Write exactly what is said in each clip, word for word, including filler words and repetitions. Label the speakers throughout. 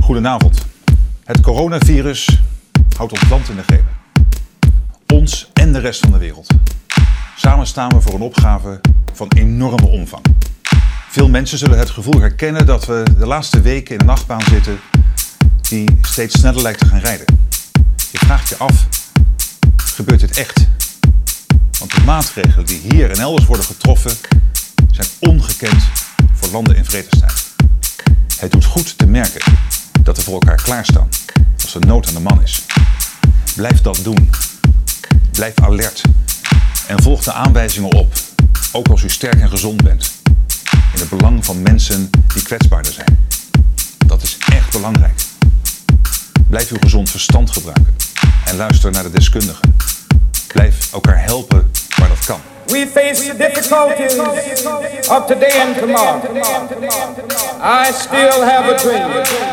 Speaker 1: Goedenavond. Het coronavirus houdt ons land in de greep. Ons en de rest van de wereld. Samen staan we voor een opgave van enorme omvang. Veel mensen zullen het gevoel herkennen dat we de laatste weken in een achtbaan zitten die steeds sneller lijkt te gaan rijden. Je vraagt je af, gebeurt dit echt? Want de maatregelen die hier en elders worden getroffen zijn ongekend voor landen in vredestijd. Het doet goed te merken dat we voor elkaar klaarstaan als er nood aan de man is. Blijf dat doen. Blijf alert. En volg de aanwijzingen op, ook als u sterk en gezond bent. In het belang van mensen die kwetsbaarder zijn. Dat is echt belangrijk. Blijf uw gezond verstand gebruiken en luister naar de deskundigen. Blijf elkaar helpen waar dat kan.
Speaker 2: We face the difficulties of today and tomorrow. I still have a dream.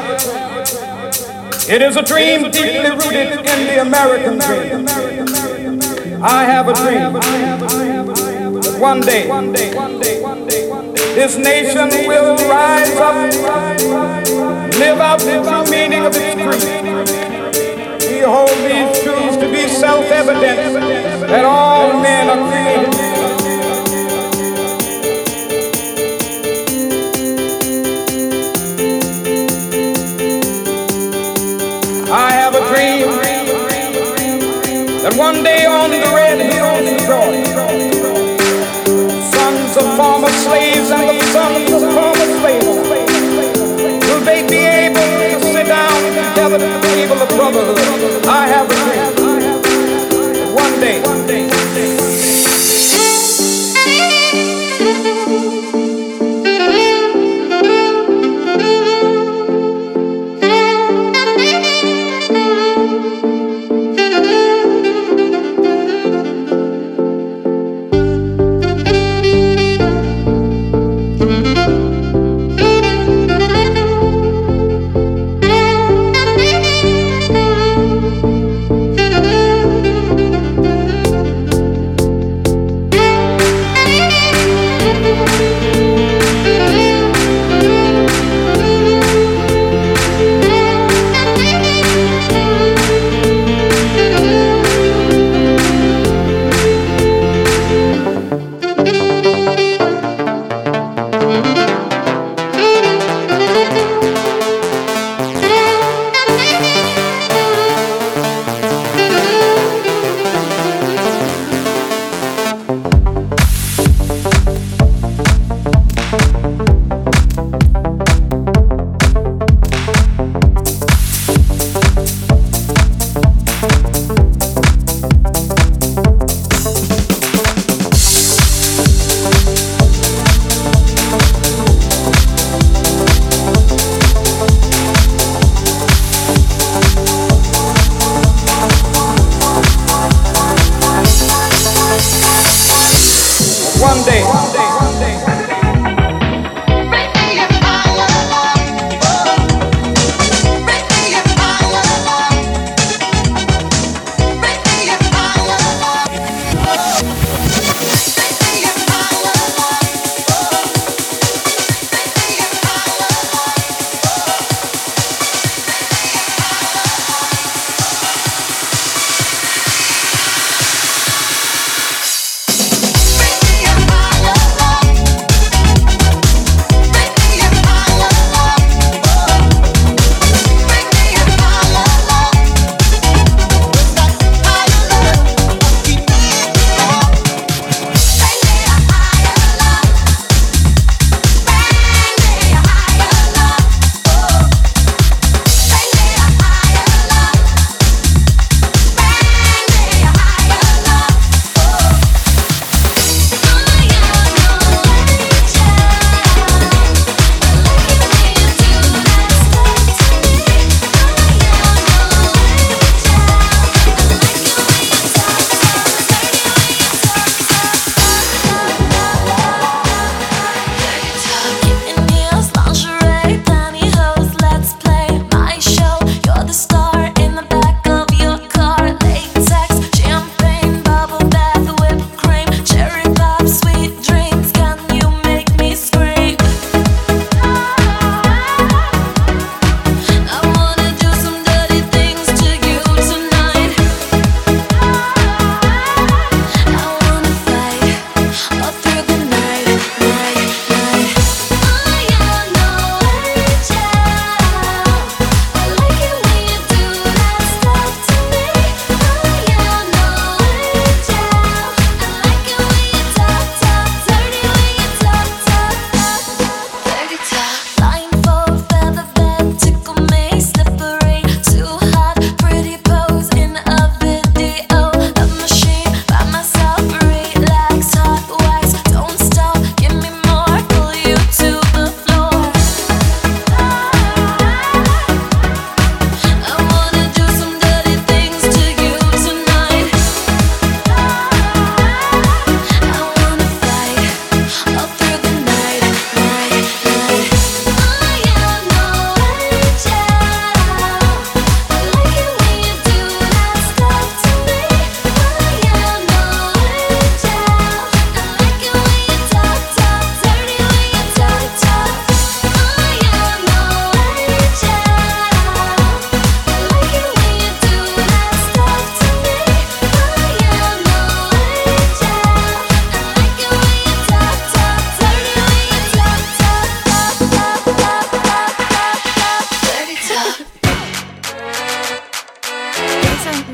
Speaker 2: It is a dream deeply rooted in the American dream. I have a dream that one day this nation will rise up, live out the true meaning of its creed. We hold these truths to be self-evident that all men are created. I have a dream that one day on the red hills of Georgia, sons of former slaves and the sons of former slaves will they be able to sit down together at the table of brotherhood. I have a dream that one day, one day, one day.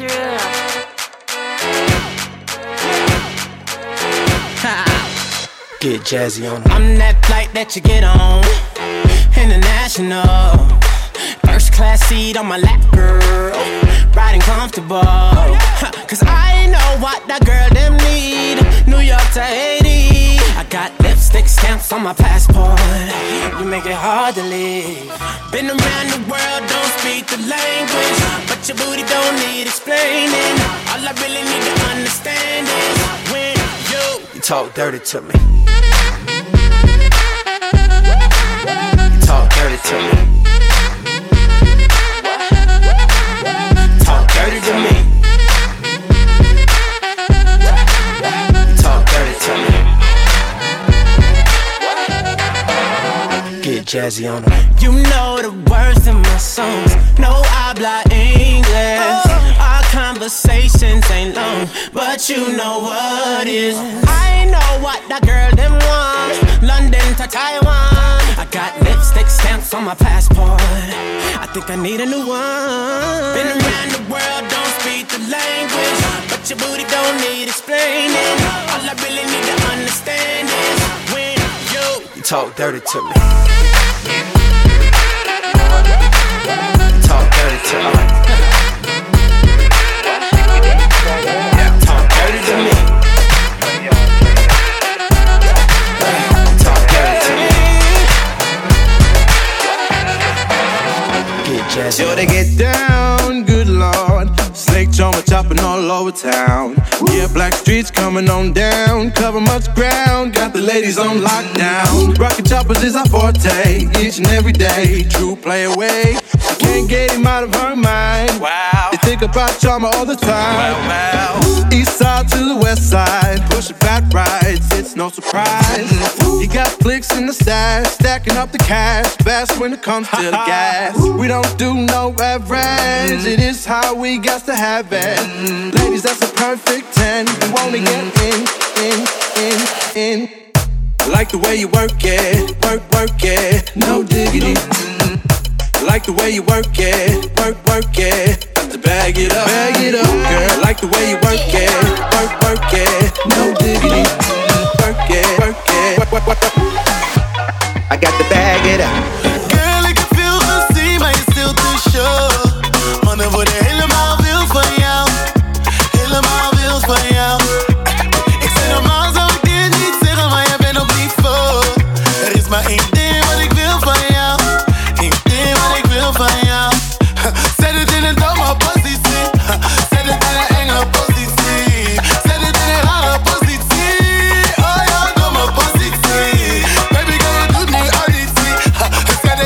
Speaker 3: Get jazzy on. I'm that flight that you get on. International. First class seat on my lap, girl. Riding comfortable. Cause I know what that girl them need. New York to Haiti. I got lipstick stamps on my passport. You make it hard to leave. Been around the world, don't speak the language. But your booty don't need explaining. All I really need to understand is when you, you talk dirty to me. You talk dirty to me. Talk dirty to me. You talk dirty to me. Get jazzy on them. You know the words in my songs. No habla English. Our conversations ain't long, but you know what is. I know what that girl them want. London to Taiwan. I got lipstick stamps on my passport. I think I need a new one. Been around the world, don't speak the language, but your booty don't need explaining. All I really need to understand is when you, you talk dirty to me. Talk dirty to me. Talk dirty to me. Talk dirty to me. Get jazzy.
Speaker 4: Sure to get down, good lord. Snake charmer chopping all over town. Yeah, black streets coming on down. Cover much ground, got the ladies on lockdown. Rockin' choppers is our forte, each and every day. True play away, can't get him out of her mind. Wow, they think about charmer all the time. Wow, wow. East side to the west side, pushing fat rides, it's no surprise. He got flicks in the stash, stacking up the cash, fast when it comes to the gas. We don't do no average, it is how we got to have it. Ladies, that's a perfect ten. You wanna get in, in, in, in. I like the way you work it, work, work it, no diggity. I like the way you work it, work, work it. Got to bag it up, bag it up, girl. I like the way you work it, work, work it, no diggity. Work it, work it, work, work, work. I got to bag it up.
Speaker 5: Girl, ik heb veel gezien, maar je stilt te show. Mannen worden helemaal wild van jou, helemaal wild van jou. Ik zeg normaal zou ik dit niet zeggen, maar jij bent op niveau. Er is maar één ding wat ik wil van jou, één ding wat ik wil van jou. Zet het in een domme positie, zet het in een enge positie, zet het in een rare positie. Oh ja, domme positie. Baby girl, je doet nu auditie. Zet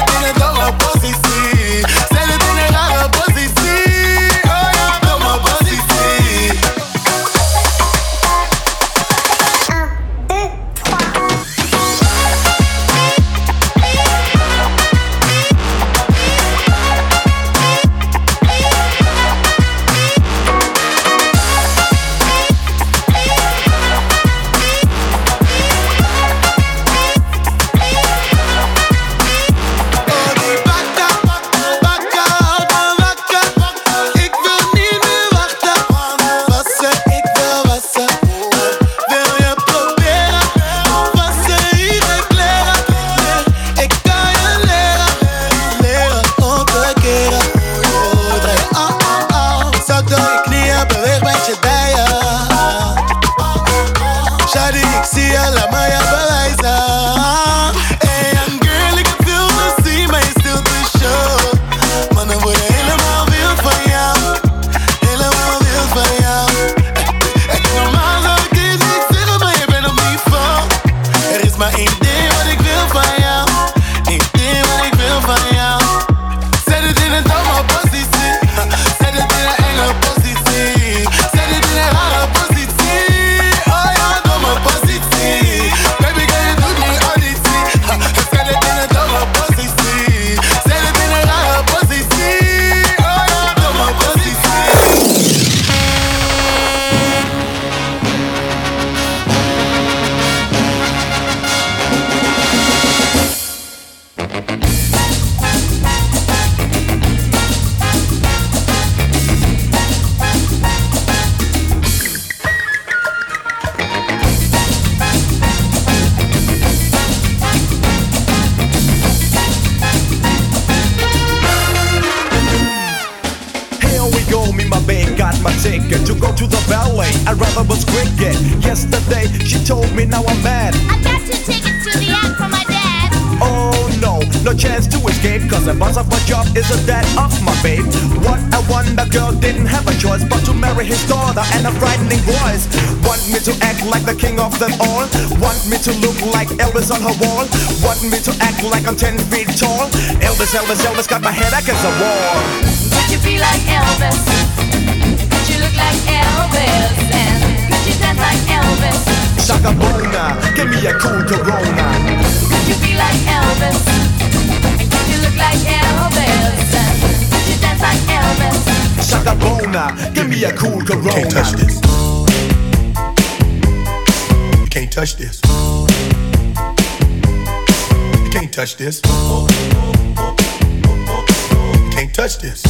Speaker 6: ballet. I'd rather was cricket. Yesterday she told me now I'm mad.
Speaker 7: I got two tickets to the act from my dad.
Speaker 6: Oh no, no chance to escape, cause the boss of my job is the dad of my babe. What a wonder, girl didn't have a choice but to marry his daughter and a frightening voice. Want me to act like the king of them all. Want me to look like Elvis on her wall. Want me to act like I'm ten feet tall. Elvis, Elvis, Elvis got my head against the wall.
Speaker 7: Could you be like Elvis? Could you look like Elvis? And could you dance like Elvis?
Speaker 6: Shaka Bona, give me a cool Corona.
Speaker 7: Could you be like Elvis? And could you look like Elvis? And could you dance like Elvis?
Speaker 6: Shaka Bona, give me a cool Corona.
Speaker 8: Can't touch this. You can't touch this. You can't touch this. You can't touch this.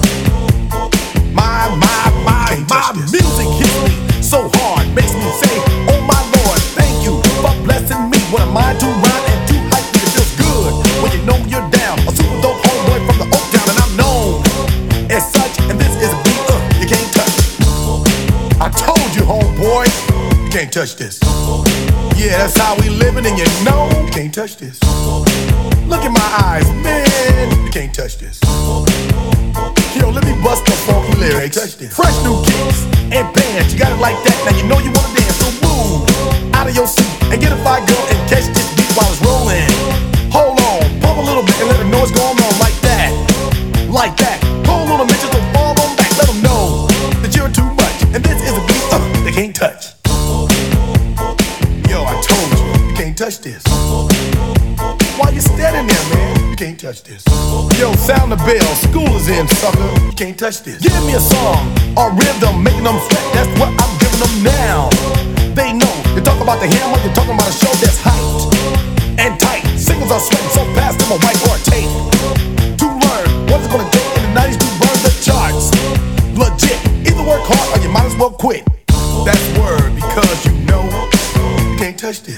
Speaker 6: My, my, my, my music hits me so hard, makes me say, oh my Lord, thank you for blessing me. What am I to rhyme and too hype? It feels good when you know you're down. A super dope homeboy from the Oak Town, and I'm known as such. And this is a beat uh, you can't touch. I told you, homeboy,
Speaker 8: you can't touch this.
Speaker 6: Yeah, that's how we living, and you know
Speaker 8: you can't touch this.
Speaker 6: Look in my eyes, man.
Speaker 8: You can't touch this.
Speaker 6: Yo, let me bust the funky lyrics. Fresh new kicks and bands. You got it like that. Now you know you wanna dance. So move out of your seat and get a fire girl and catch this beat while it's rolling. Hold on, pump a little bit and let them know what's going on like that. Like that. Hold on a minute, just fall on back. Let them know that you're too much. And this is a beat uh, they can't touch.
Speaker 8: Yo, I told you, you can't touch this.
Speaker 6: Why you standing there, man?
Speaker 8: You can't touch this.
Speaker 6: Yo, sound the bell, school is in, sucker.
Speaker 8: You can't touch this.
Speaker 6: Give me a song, a rhythm, making them sweat. That's what I'm giving them now. They know, you talk about the hammer, you're talking about a show that's hyped and tight. Singles are sweating so fast, them a white or a tape. To learn what it's gonna take in the nineties to burn the charts. Legit, either work hard or you might as well quit.
Speaker 8: That's word, because you know you can't touch this.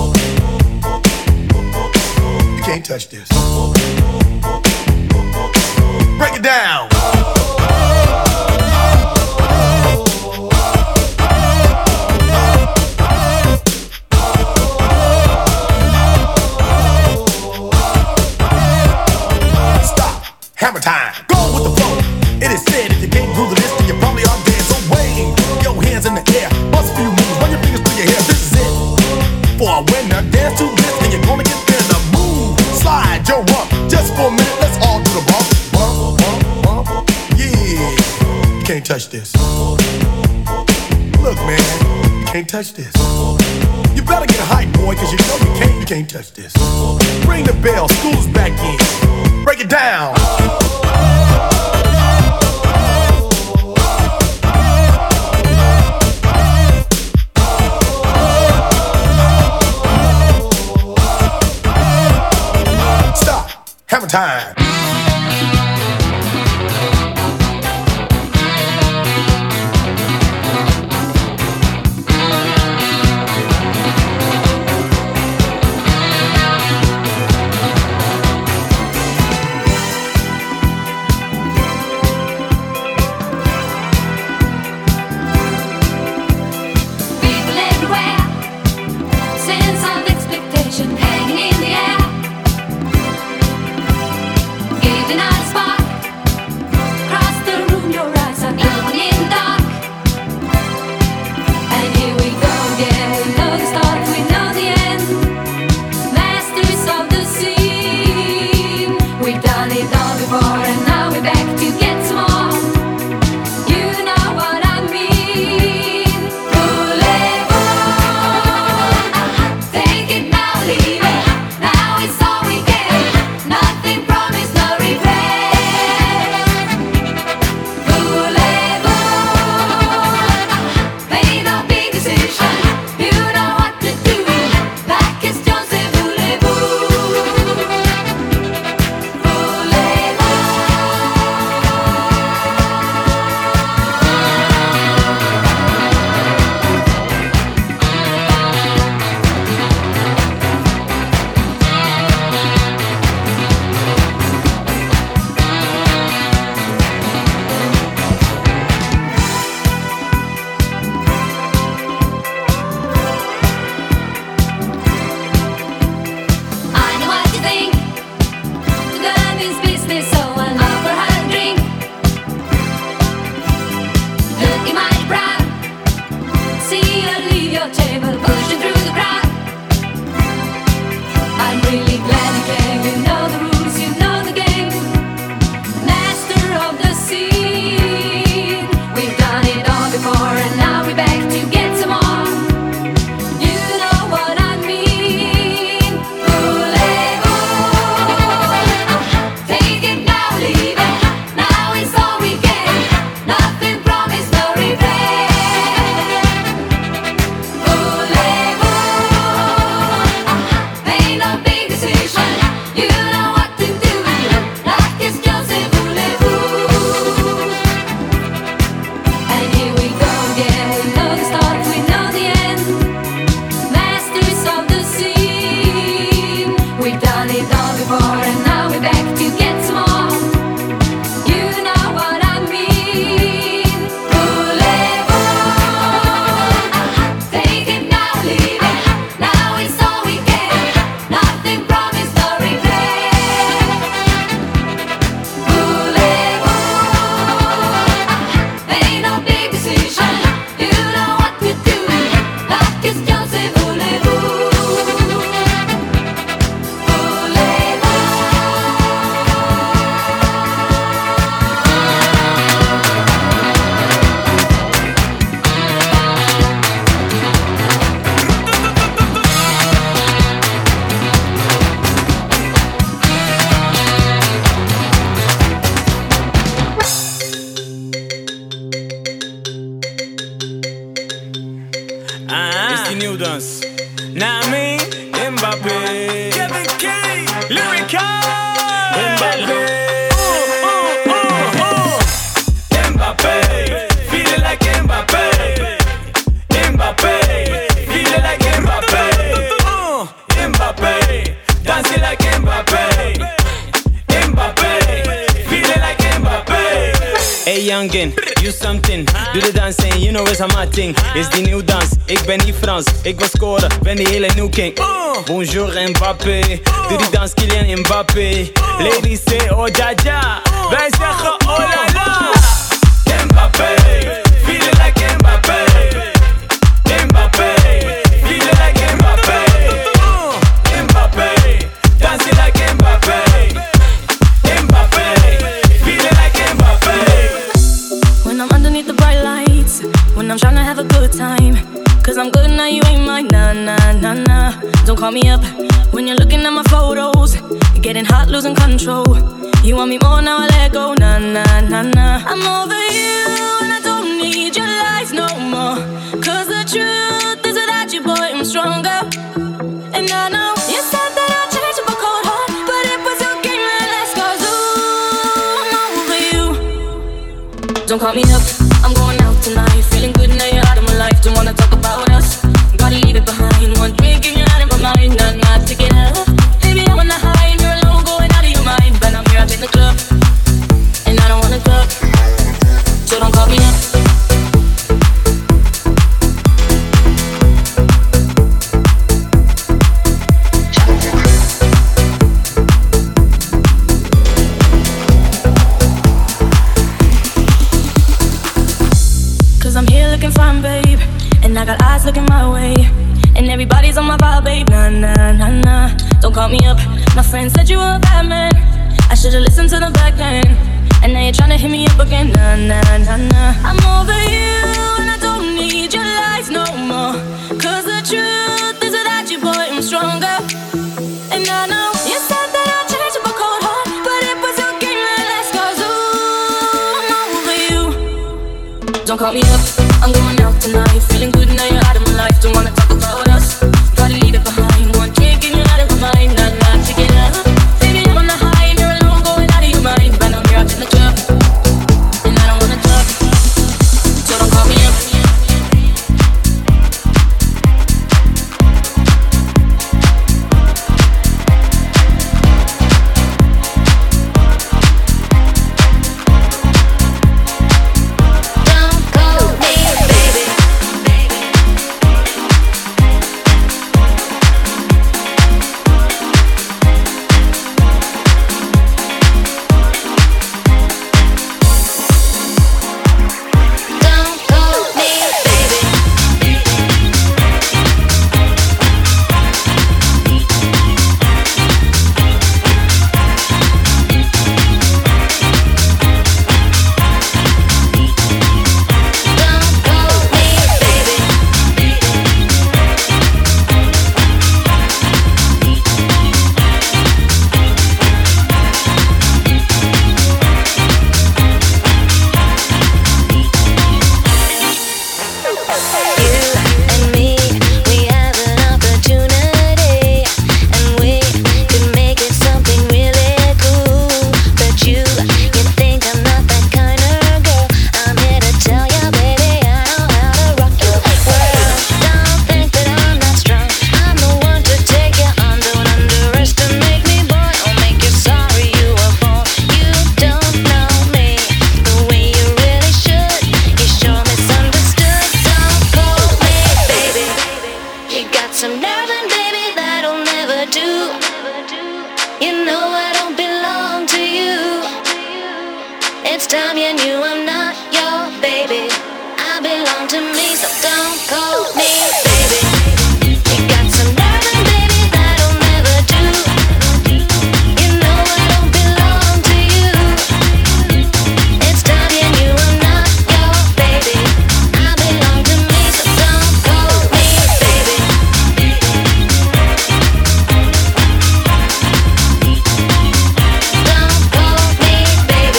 Speaker 8: You can't touch this.
Speaker 6: Break it down. Stop. Hammer time. Go with the flow. It is said if you can't groove this, then you probably are dead. So wave your hands in the air. Bust a few moves. Run your fingers through your hair. This is it. For a winner, dance to this, and you're gonna get there. Now move, slide your rump. Just for a minute, let's all do the bump. Bump, bump, bump. Yeah.
Speaker 8: You can't touch this.
Speaker 6: Look, man, you can't touch this. You better get hype, boy, cause you know you can't.
Speaker 8: You can't touch this.
Speaker 6: Ring the bell, school's back in. Break it down. Stop. Hammer time.
Speaker 3: youngin, you something. Doe de dans en you know it's a my thing. Is die nieuw dans, ik ben niet Frans. Ik wil scoren, ben die hele new king. Bonjour Mbappé, doe die dans Kylian Mbappé. Ladies say oh ja ja, wij zeggen oh la la. Mbappé, feel it like Mbappé. Mbappé, feel it like Mbappé. Mbappé, dance it like Mbappé. Mbappé, feel it like Mbappé.
Speaker 9: When I'm underneath the bright lights, when I'm tryna have a good time, cause I'm good now, you ain't mine, nah, nah, nah, nah. Don't call me up when you're looking at my photos, getting hot, losing control. You want me more, now I let go, nah, nah, nah, nah. I'm over you and I don't need your lies no more, cause the truth is without you, boy, I'm stronger. And I know you said that I'd change up a cold heart, but it was your game that last, cause ooh, I'm over you. Don't call me up, I'm going out tonight, feeling good now you're out of my life. Don't wanna talk about us, gotta leave it behind. One drink and you're out of my mind, not not to get up. Baby, I'm on the high and you're alone, going out of your mind. But I'm here up in the club, and I don't wanna club, so don't call me up. Cause I'm here looking fine, babe, and I got eyes looking my way, and everybody's on my vibe, babe, nah, nah, nah, nah. Don't call me up, my friend said you were a bad man, I should've listened to them back then, and now you're tryna hit me up again, nah, nah, nah, nah. I'm over you, and I don't need your lies no more, cause the truth is without you, boy, I'm stronger. And I know you said that I'd change up a cold heart, but it was your game that last, cause ooh, I'm over you. Don't call me up, I'm going out tonight, feeling good now you're out of my life. Don't wanna talk about us, gotta leave it behind. One drink and you're out of my mind, not not to get up. Baby, I'm on the high and you're alone, going out of your mind. But I'm here up in the club, and I don't wanna club, so don't call me up. It's time you knew I'm not your baby. I belong to me, so don't call me baby. You got some nerve, baby, that'll never do. You know I don't belong to you. It's time you knew I'm not your baby. I belong to me, so don't call me baby. Don't call me baby.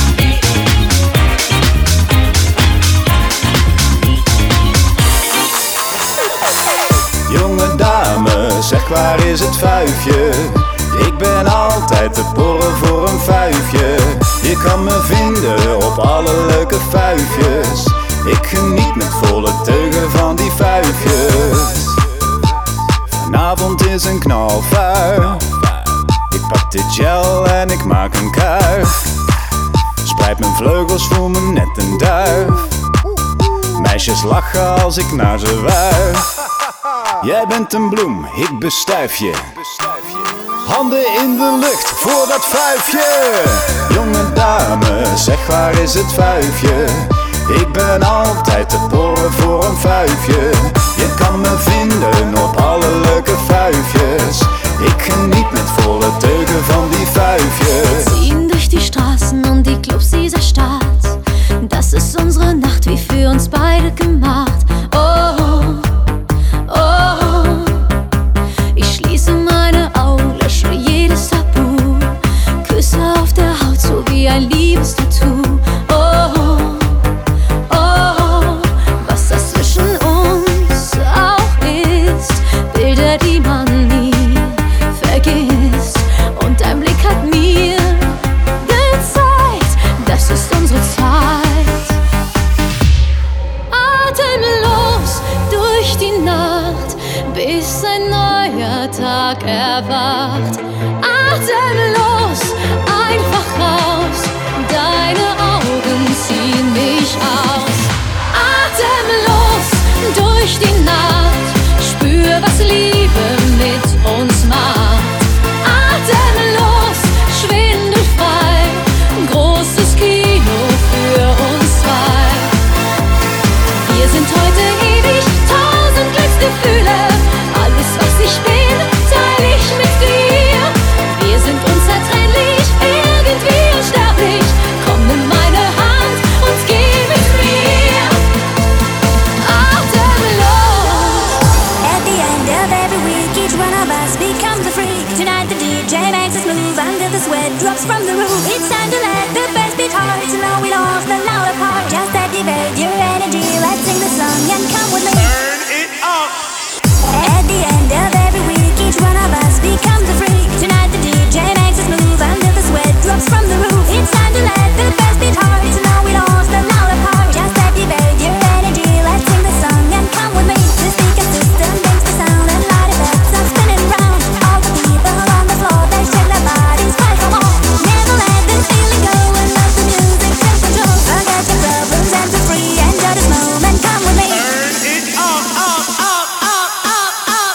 Speaker 10: Jonge dame, zeg waar is het vuifje? Ik ben altijd te porren voor een vuifje. Je kan me vinden op alle leuke vuifjes. Ik geniet met volle teugen van die vuifjes. Vanavond is een knalvuif. Ik pak de gel en ik maak een kuif. Spreid Spreid mijn vleugels, voel me net een duif. Meisjes lachen als ik naar ze wuif. Jij bent een bloem, ik bestuif je. Handen in de lucht voor dat vuifje. Jonge dame, zeg waar is het vuifje? Ik ben altijd te porren voor een vuifje. Je kan me vinden op alle leuke vuifjes. Ik geniet met volle teugen van die vuifjes.
Speaker 9: Wir ziehen durch die Straßen und die Clubs dieser Stadt. Das ist unsere Nacht, wie für uns beide gemacht. Oh, oh, ich schließe meine Augen, lösche jedes Tabu. Küsse auf der Haut, so wie ein Liebestattoo. Oh, oh, was das zwischen uns auch ist. Bilder, die man nie vergisst. Und dein Blick hat mir gezeigt, das ist unsere Zeit. Atemlos durch die Nacht, bis ein neuer Tag erwacht. Atemlos, einfach raus, deine Augen ziehen mich aus. Atemlos durch die Nacht, spür, was Liebe mit uns macht. Atemlos, schwindelfrei, großes Kino für uns zwei. Wir sind heute ewig, tausend Glücksgefühle. Alles, was ich bin, teile ich mit dir. Wir sind unzertrennlich, irgendwie unsterblich. Komm, nimm meine Hand und geh mit mir. Atemlos.
Speaker 11: At the end of every week, each one of us becomes a freak. Tonight the D J makes us move until the sweat drops from the roof. It's time to let the bass beat hard, so now we lost the louder part. Just activate your energy, let's sing the song and come with me.
Speaker 8: Turn it up.
Speaker 11: At the end of every week, each one of us becomes a freak. Tonight the D J makes us move until the sweat drops from the roof. It's time to let the bass beat hard, so now we lost the louder part. Just activate your energy, let's sing the song and come with me. The speaker system makes the sound and light effects are spinning round. All the people on the floor, they shake their bodies, fight for more. Never let this feeling go and let the music take control. Forget your problems and be free, enjoy this moment, come with me.
Speaker 8: Turn it up, up, up, up, up, up.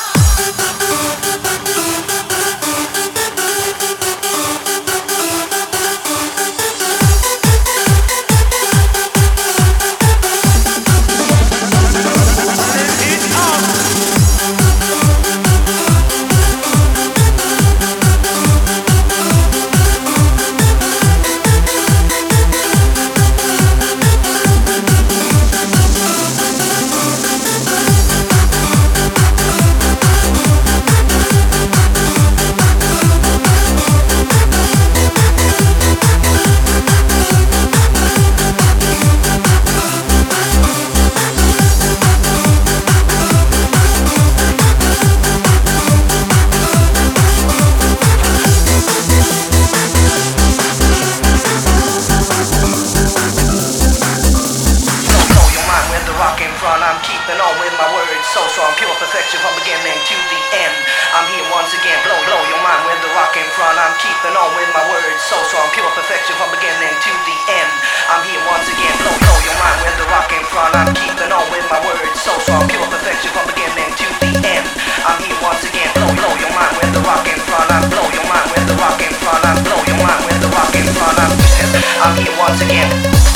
Speaker 12: Blow your mind with the rock in front. I'm keeping on with my words so strong, pure perfection from beginning to the end. I'm here once again. Blow, blow your mind with the rock in front. I'm keeping on with my words so strong, pure perfection from beginning to the end. I'm here once again. Blow, blow your mind with the rock in front. I'm keeping on with my words so strong, pure perfection from beginning to the end. I'm here once again. Blow, blow your mind with the rock in front. I'm blow your mind with the rock in front. I'm blow your mind with the rock in front. I'm, I'm here once again.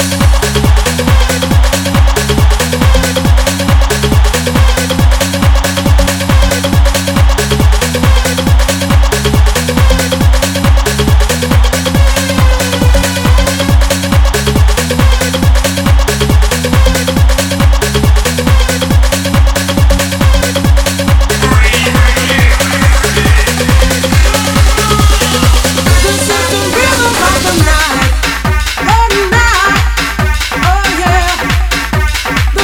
Speaker 3: This is the rhythm of the night. Oh, night.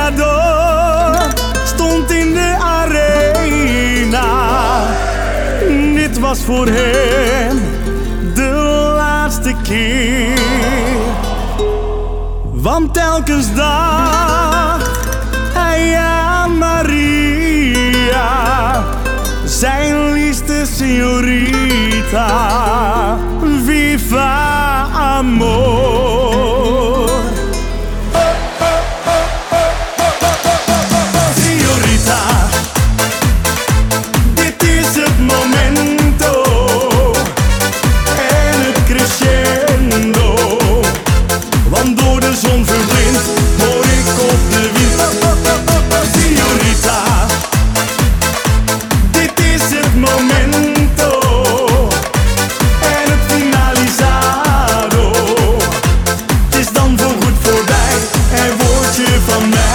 Speaker 13: Toreador stond in de arena. Dit was voor hem de laatste keer. Want telkens dacht hij aan Maria, zijn liefste señorita. Viva amor. Señorita, dit is het momento en het crescendo. Want door de zon verblind hoor ik op de wind. Señorita, dit is het momento en het finalizado. Het is dan voorgoed voorbij en word je van mij.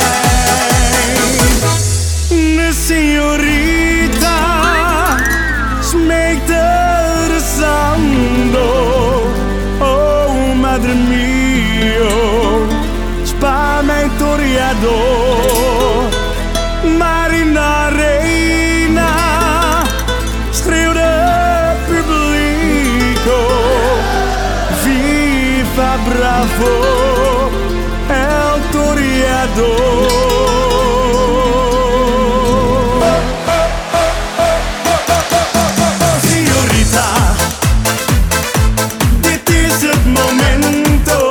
Speaker 13: De señorita smeekte rezando. Oh, madre mio, spaar mijn Toreador. Maar in de arena schreeuwde publico. Viva bravo, el Toreador. Señorita, dit is het momento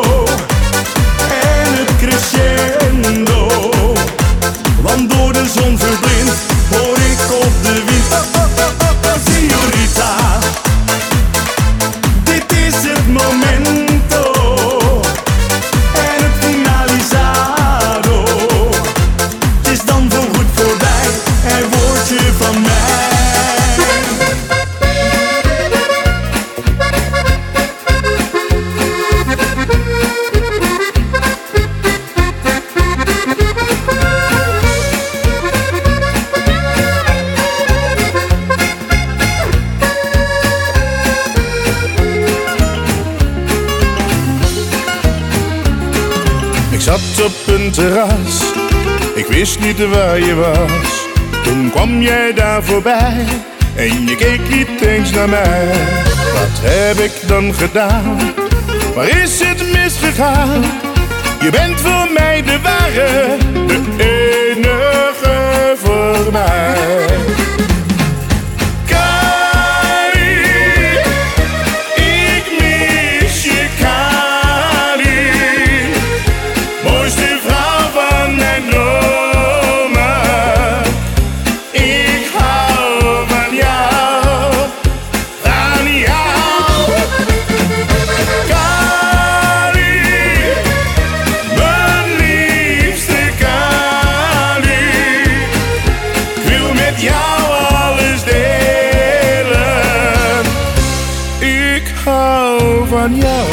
Speaker 13: en het crescendo. Want door de zon verblind hoor ik op de wind. Señorita, dit is het momento en het finalizado. Het is dan voorgoed voorbij en word je van mij.
Speaker 4: Ik zat op een terras, ik wist niet waar je was. Toen kwam jij daar voorbij en je keek niet eens naar mij. Wat heb ik dan gedaan? Waar is het misgegaan? Je bent voor mij de ware, de enige voor mij. Van jou.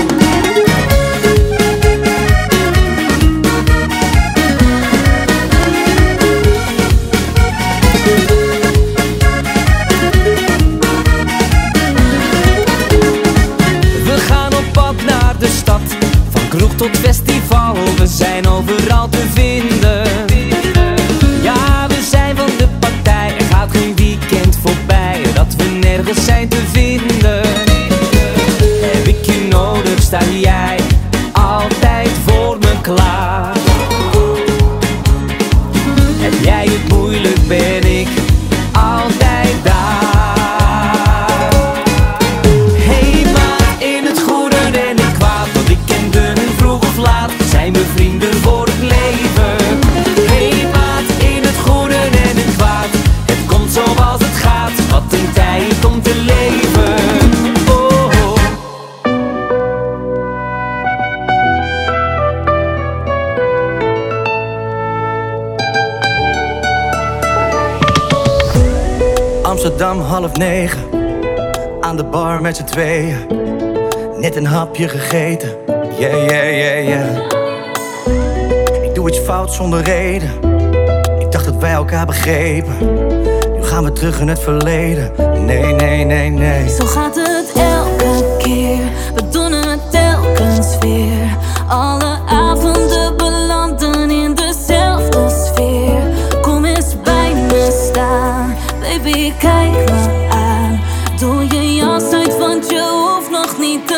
Speaker 14: We gaan op pad naar de stad, van kroeg tot festival. We zijn overal te vinden. Ja, we zijn van de partij. Er gaat geen weekend voorbij dat we nergens zijn te vinden. Heb ik je nodig, sta jij altijd voor me klaar. Heb jij het moeilijk, ben ik altijd daar. Hey maat, in het goede en het kwaad, want ik ken de vroeg of laat, zijn we vrienden voor het leven. Hey maat, in het goede en het kwaad, het komt zoals het gaat, wat een tijd om te leven.
Speaker 15: Amsterdam half negen, aan de bar met z'n tweeën. Net een hapje gegeten, yeah, yeah, yeah, yeah. Ik doe iets fout zonder reden, ik dacht dat wij elkaar begrepen. Nu gaan we terug in het verleden, nee, nee, nee, nee.
Speaker 9: Zo gaat het elke keer, we doen het telkens weer. Alle avonden belanden in de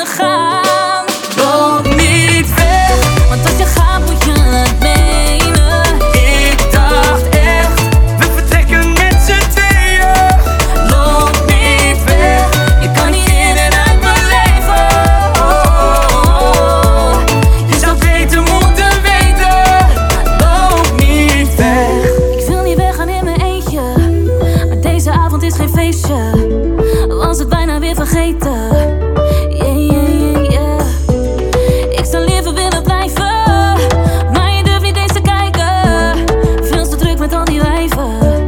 Speaker 9: willen gaan. Loop niet weg, want als je gaat moet je het menen. Ik dacht echt, we vertrekken met z'n tweeën. Loop niet weg, je kan niet in en uit mijn leven. Oh, oh, oh. Je zou beter moeten weten. Loop niet weg. Ik wil niet weggaan in mijn eentje, maar deze avond is geen feestje. Was het bijna weer vergeten. Yeah, yeah, yeah, yeah. Ik zou liever willen blijven, maar je durft niet eens te kijken. Veel te druk met al die wijven.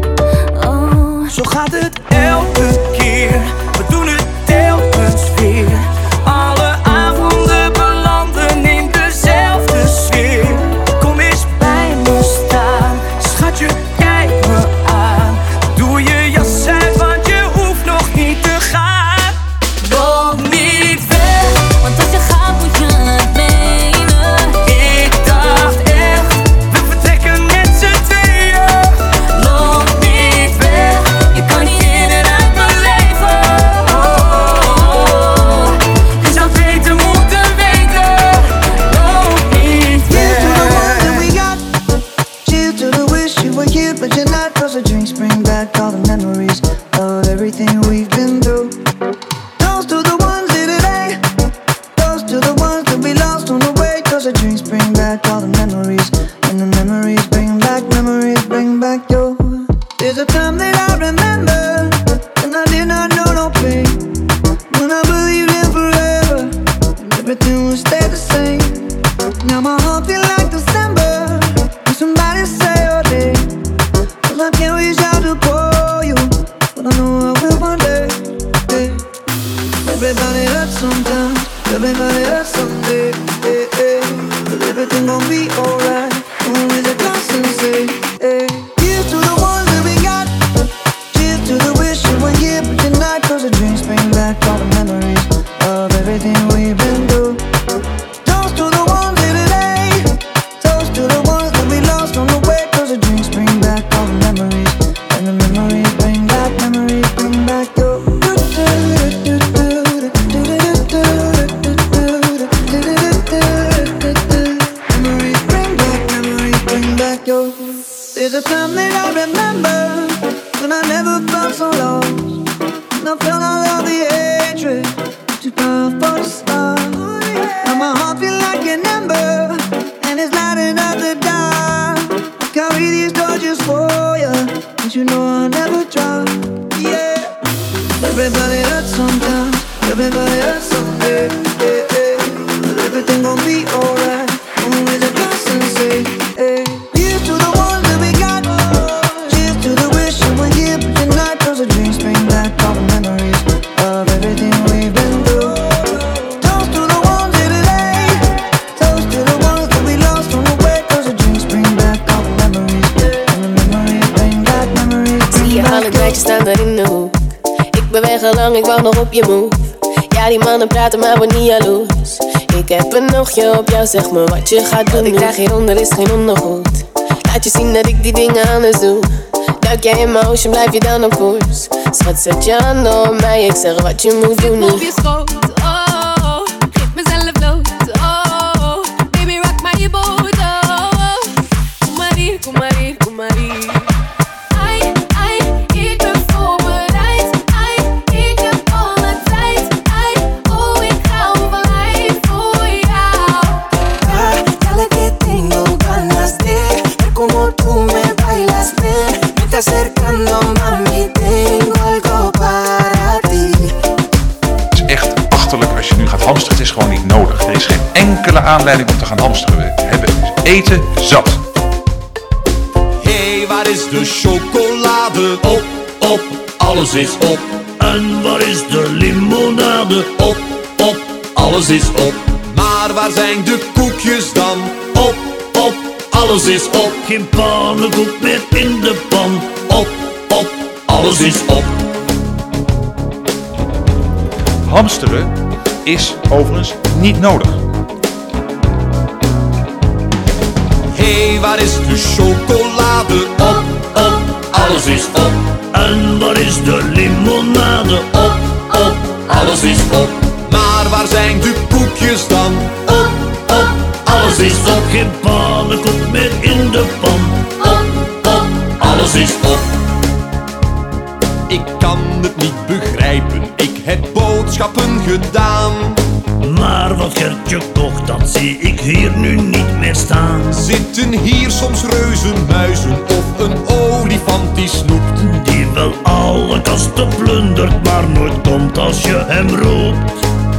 Speaker 9: Oh.
Speaker 15: Zo gaat het elke keer, we doen het telkens weer. Alle avonden belanden in dezelfde sfeer. Kom eens bij me staan, schatje, kijk me aan. Doe je jas uit, want je hoeft nog niet te gaan.
Speaker 9: Loop niet weg, want als je gaat moet je het menen.
Speaker 15: Ik dacht echt, we vertrekken met z'n tweeën.
Speaker 9: Loop niet weg, je kan niet in en uit mijn leven. Oh, oh, oh. Je zou beter moeten weten. Loop niet weg.
Speaker 16: We got cheers to the wish you were here, but you're not. Cause the drinks bring back all the memories of everything we've been through. Toast to the ones here today, toast to the ones that we lost on the way. Cause the drinks bring back all the memories, and the memories bring back, memories bring back your. There's a time that I remember, and I did not know no pain. When I believed in forever, and everything would stay the same. Now my heart feel like December, when somebody say your name. Cause I can't reach out to call you, but I know I will one day. Hey. Everybody hurts sometimes, everybody hurts someday. Hey, hey. But everything gon' be alright, gonna raise a glass and say, hey. Here's to the ones that we got, cheers to the wish you were here, but you're not. Cause the drinks bring back all the memories of everything we've been through. Toast to the ones here today, toast to the ones that we lost on the way. Cause the drinks bring back all the memories, and the memories bring back, memories bring back your. Memories bring back, memories bring back your. There's a time that I remember when I never felt so lost, and I felt all of the hatred too powerful for the stars. Now my heart feel like an ember, and it's lighting up the dark. I carry these torches for you, and you know I'll never drop. Yeah. Everybody hurts sometimes, everybody hurts someday. Yeah, yeah. But everything gon' be alright. Gonna raise a glass and say, hey. Here's to the ones that we got. Cheers to the wish you were here, but you're not. Cause the drinks bring back all the memories of everything we've been through. Toast to the ones here today, toast to the ones that we lost on the way. Cause the drinks bring back all the memories, and the memories bring back, memories bring
Speaker 17: Zie je
Speaker 16: back
Speaker 17: alle meisjes staan daar in de hoek. Ik beweeg al lang, ik wacht nog op je move. Ja, die mannen praten, maar word niet jaloers. Ik heb een oogje op jou, zeg me wat je gaat doen. Wat ik draag hieronder is geen ondergoed. Laat je zien dat ik die dingen anders doe. Duik jij in mijn ocean, blijf je dan op koers. Schat, zet je handen op mij, ik zeg wat je moet doen nu.
Speaker 18: Op je schoot, oh, geef mezelf bloot, oh, baby rock my boat, oh, kom maar hier, kom maar hier, kom maar hier. Ai, ai, ik ben voorbereid, ai, ik heb alle tijd, ai, oh, ik hou van lijf voor jou.
Speaker 3: Ah, ya le que tengo ganas de ver como tú me bailas bien. Me está acercando, mami, tengo algo para ti.
Speaker 1: Het is echt achterlijk als je nu gaat hamsteren. Het is gewoon niet nodig. Er is geen enkele aanleiding om te gaan hamsteren. We hebben eten zat.
Speaker 19: Hé, hey, waar is de chocolade? Op, op, alles is op. En waar is de limonade? Op, op, alles is op. Maar waar zijn de koekjes dan? Op, op, alles is op. Geen pannenkoek meer in de pan. Op, op, alles is op.
Speaker 1: Hamsteren is overigens niet nodig.
Speaker 19: Hé, hey, waar is de chocolade? Op, op, alles is op. En waar is de limonade? Op, op, alles is op. Maar Maar waar zijn de koekjes dan? Op, op, alles is op. Geen pannenkoek meer in de pan. Op, op, alles is op. Ik kan het niet begrijpen, ik heb boodschappen gedaan. Maar wat Gertje kocht, dat zie ik hier nu niet meer staan. Zitten hier soms reuzenmuizen of een olifant die snoept? Die wel alle kasten plundert, maar nooit komt als je hem roept.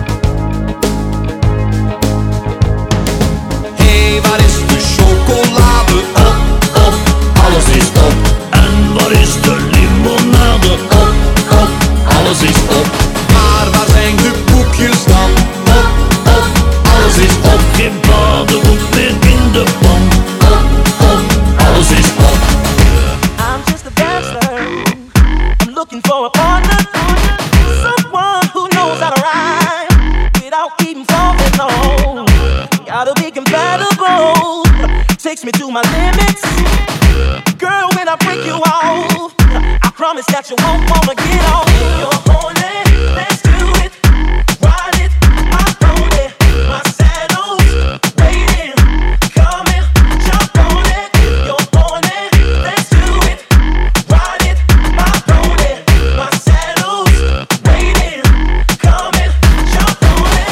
Speaker 19: Hé, hey, waar is de chocolade? Op, op, alles is op. En waar is de limonade? Op, op, alles is op. Maar waar zijn de koekjes dan? Op, op, alles is op. Geen paardenkoek meer in de pan. Op, op, alles is op.
Speaker 20: I'm just a bachelor. I'm looking for a partner. Someone who knows how to rhyme without even falling low. Gotta be compatible. Takes me to my limits. Girl, when I break you off, I promise that you won't wanna get off. You're horny, let's do it. Ride it, my pony, my saddle's waiting. Come and jump on it. You're horny, let's do it. Ride it, my pony, my saddle's waiting. Come and jump on it.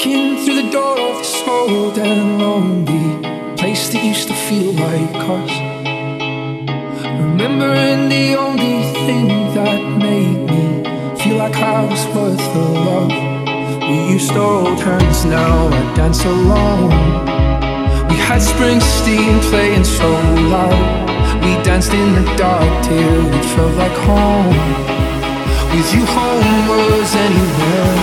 Speaker 21: Walking through the door of this old and lonely place that used to feel like us. Remembering the only thing that made me feel like I was worth the love. We used to hold hands, now I dance alone. We had Springsteen playing so loud. We danced in the dark till it felt like home. With you home was anywhere.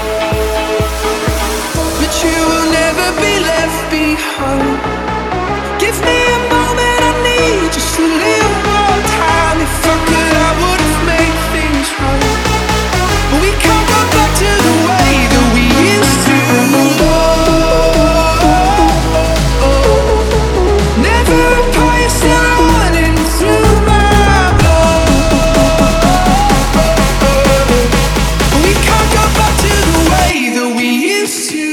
Speaker 21: But you will never be left behind. Give me a moment, I need just a little more time. If I could, I would have made things right. But we can't go back to the way that we used to. Oh, oh, oh. Never a poison running through my blood. But we can't go back to the way that we used to.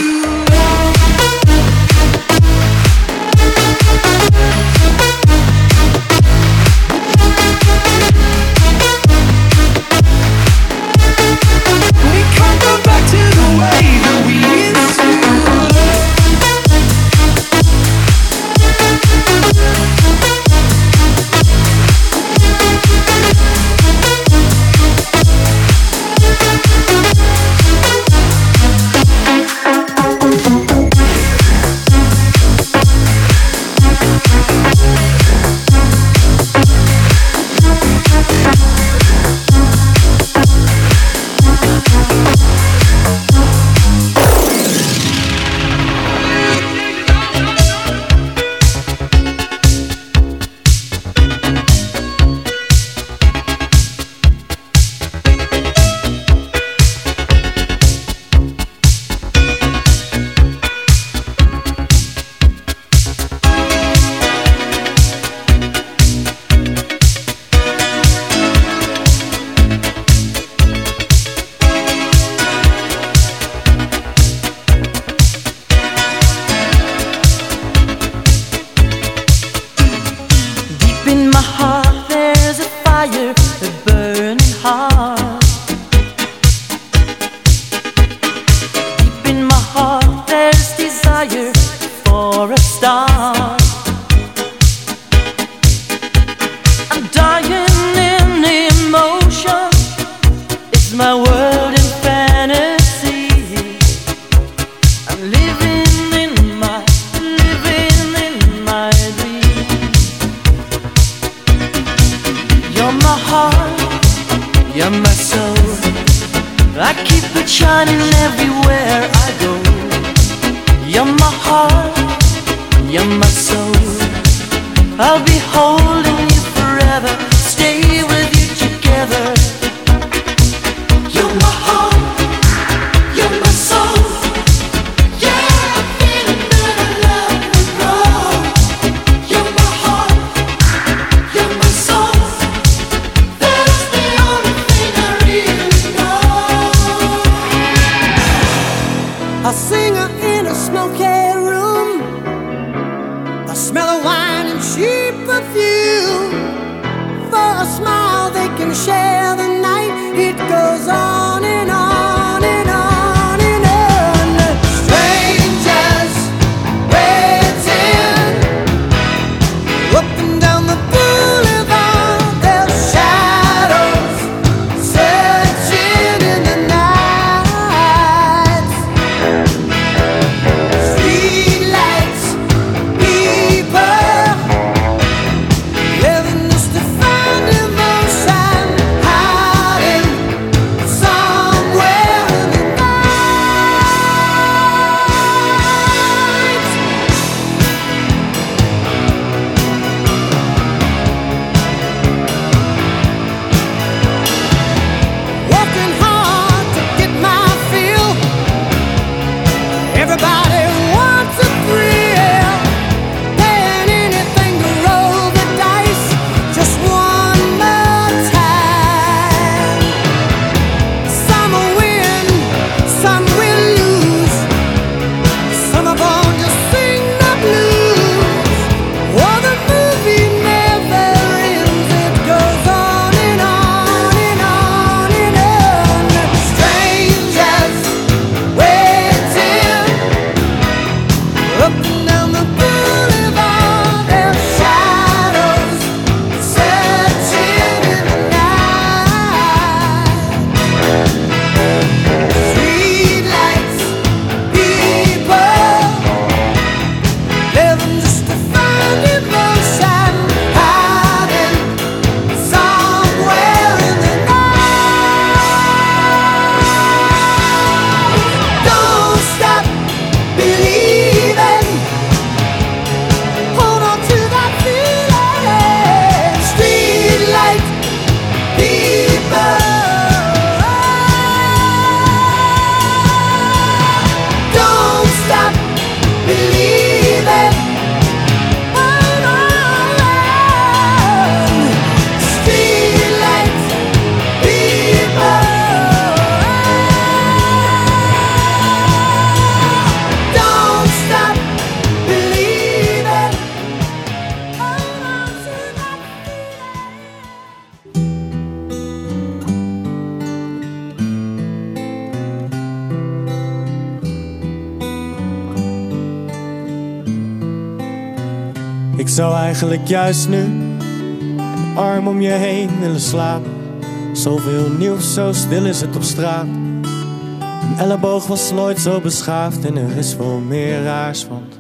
Speaker 22: Living just to find emotion.
Speaker 2: Ik zou eigenlijk juist nu een arm om je heen willen slapen. Zoveel nieuws, zo stil is het op straat. Een elleboog was nooit zo beschaafd en er is wel meer raars, want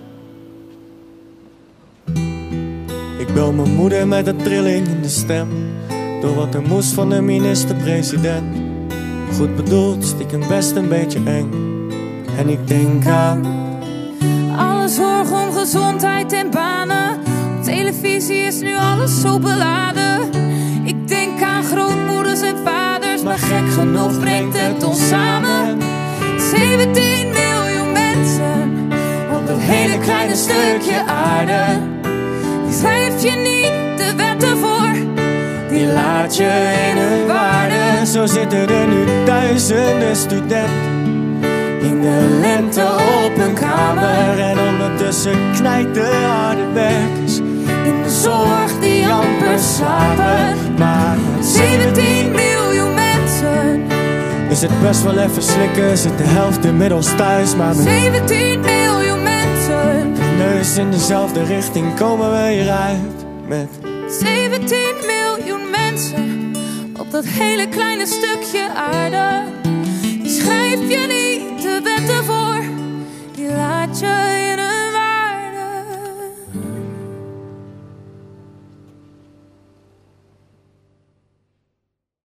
Speaker 2: ik bel mijn moeder met een trilling in de stem, door wat er moest van de minister-president. Goed bedoeld, stiekem best een beetje eng. En ik denk aan
Speaker 22: alle zorg om gezondheid en banen. Op televisie is nu alles zo beladen. Ik denk aan grootmoeders en vaders, maar gek genoeg brengt het ons samen. zeventien miljoen mensen op dat hele kleine stukje aarde. Die schrijf je niet de wetten voor, die laat je in hun waarde.
Speaker 2: Zo zitten er nu duizenden studenten in de lente op hun kamer. En ondertussen knijt de harde werkers in de zorg die amper slapen. Maar
Speaker 22: zeventien miljoen mensen
Speaker 2: is het best wel even slikken, zit de helft inmiddels thuis. Maar met
Speaker 22: zeventien miljoen mensen,
Speaker 2: neus in dezelfde richting komen we hieruit. Met
Speaker 22: zeventien miljoen mensen op dat hele kleine stukje aarde.